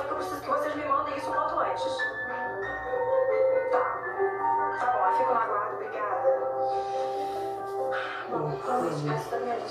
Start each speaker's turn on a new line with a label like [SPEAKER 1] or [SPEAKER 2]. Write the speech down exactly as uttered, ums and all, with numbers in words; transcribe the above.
[SPEAKER 1] que eu preciso que vocês me mandem isso o quanto antes. Tá. Tá bom, eu fico no aguardo, obrigada. Bom, vamos da minha lista.